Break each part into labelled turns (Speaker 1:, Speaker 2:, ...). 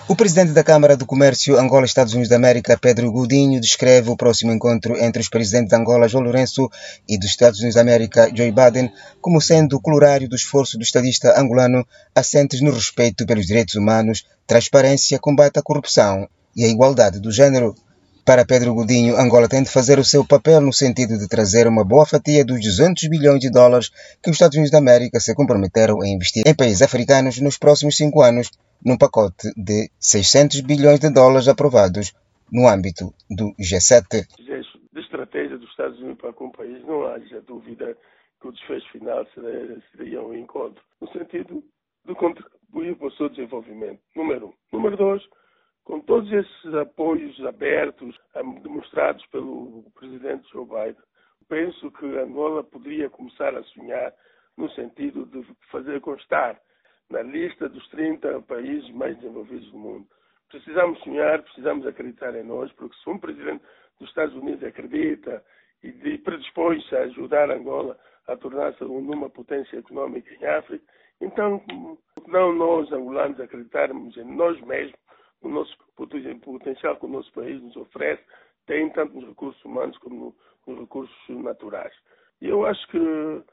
Speaker 1: O presidente da Câmara do Comércio Angola-Estados Unidos da América, Pedro Godinho, descreve o próximo encontro entre os presidentes de Angola, João Lourenço, e dos Estados Unidos da América, Joe Biden, como sendo colorário do esforço do estadista angolano assentes no respeito pelos direitos humanos, transparência, combate à corrupção e a igualdade do género. Para Pedro Godinho, Angola tem de fazer o seu papel no sentido de trazer uma boa fatia dos 200 bilhões de dólares que os Estados Unidos da América se comprometeram a investir em países africanos nos próximos 5 anos, num pacote de 600 bilhões de dólares aprovados no âmbito do G7.
Speaker 2: De estratégia dos Estados Unidos para com o país, não haja dúvida que o desfecho final seria um encontro, no sentido de contribuir para o seu desenvolvimento, número 1. Número 2, com todos esses apoios abertos, demonstrados pelo presidente Joe Biden, penso que Angola poderia começar a sonhar no sentido de fazer constar na lista dos 30 países mais desenvolvidos do mundo. Precisamos sonhar, precisamos acreditar em nós, porque se um presidente dos Estados Unidos acredita e predispõe-se a ajudar Angola a tornar-se numa potência económica em África, então não nós, angolanos, acreditarmos em nós mesmos, o nosso potencial que o nosso país nos oferece, tem tanto nos recursos humanos como nos recursos naturais. E eu acho que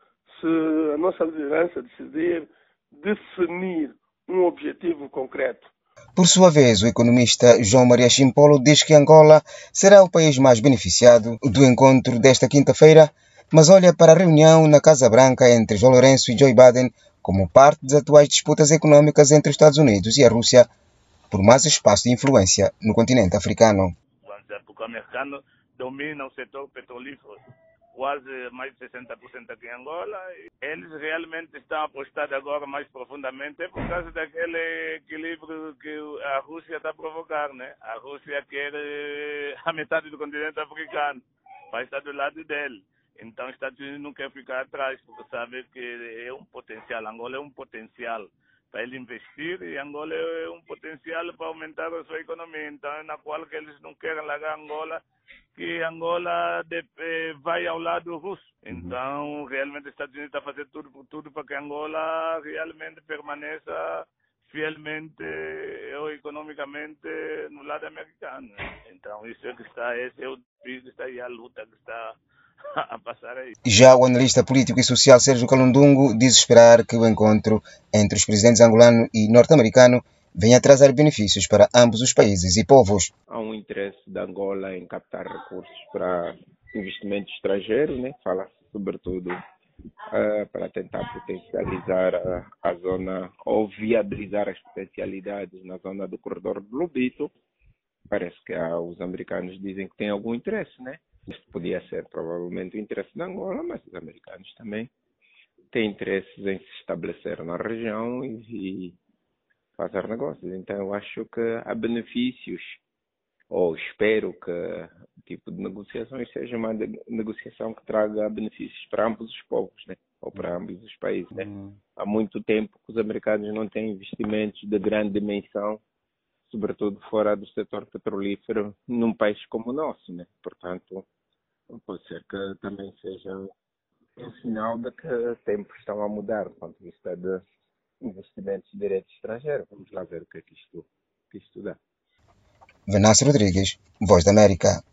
Speaker 2: se a nossa liderança decidir definir um objetivo concreto.
Speaker 1: Por sua vez, o economista João Maria Chimpolo diz que Angola será o país mais beneficiado do encontro desta quinta-feira, mas olha para a reunião na Casa Branca entre João Lourenço e Joe Biden como parte das atuais disputas econômicas entre os Estados Unidos e a Rússia por mais espaço de influência no continente africano.
Speaker 3: Porque o americano domina o setor petrolífero, quase mais de 60% aqui em Angola. Eles realmente estão apostados agora mais profundamente por causa daquele equilíbrio que a Rússia está a provocar, né? A Rússia quer a metade do continente africano, vai estar do lado dele. Então, os Estados Unidos não quer ficar atrás, porque sabe que é um potencial. Angola é um potencial para ele investir e Angola é um potencial para aumentar a sua economia. Então, é na qual que eles não querem largar Angola, que Angola vai ao lado russo. Então, realmente, os Estados Unidos estão fazendo tudo para que Angola realmente permaneça fielmente ou economicamente no lado americano. Então, isso é que está, esse é o desafio que está aí, a luta que está a passar aí.
Speaker 1: Já o analista político e social Sérgio Calundungo diz esperar que o encontro entre os presidentes angolano e norte-americano venha a trazer benefícios para ambos os países e povos.
Speaker 4: Há um interesse da Angola em captar recursos para investimento estrangeiro, né? Fala-se sobretudo para tentar potencializar a zona ou viabilizar as potencialidades na zona do corredor do Lobito. Parece que os americanos dizem que têm algum interesse, né? Isso podia ser provavelmente o interesse da Angola, mas os americanos também têm interesses em se estabelecer na região e fazer negócios. Então eu acho que há benefícios, ou espero que o tipo de negociações seja uma negociação que traga benefícios para ambos os povos, né? Ou para ambos os países. Né? Há muito tempo que os americanos não têm investimentos de grande dimensão, sobretudo fora do setor petrolífero, num país como o nosso, né? Portanto, pode ser que também seja um sinal de que tempos estão a mudar do ponto de vista de investimentos de direito estrangeiro. Vamos lá ver o que é que isto dá.
Speaker 1: Venâncio Rodrigues, Voz da América.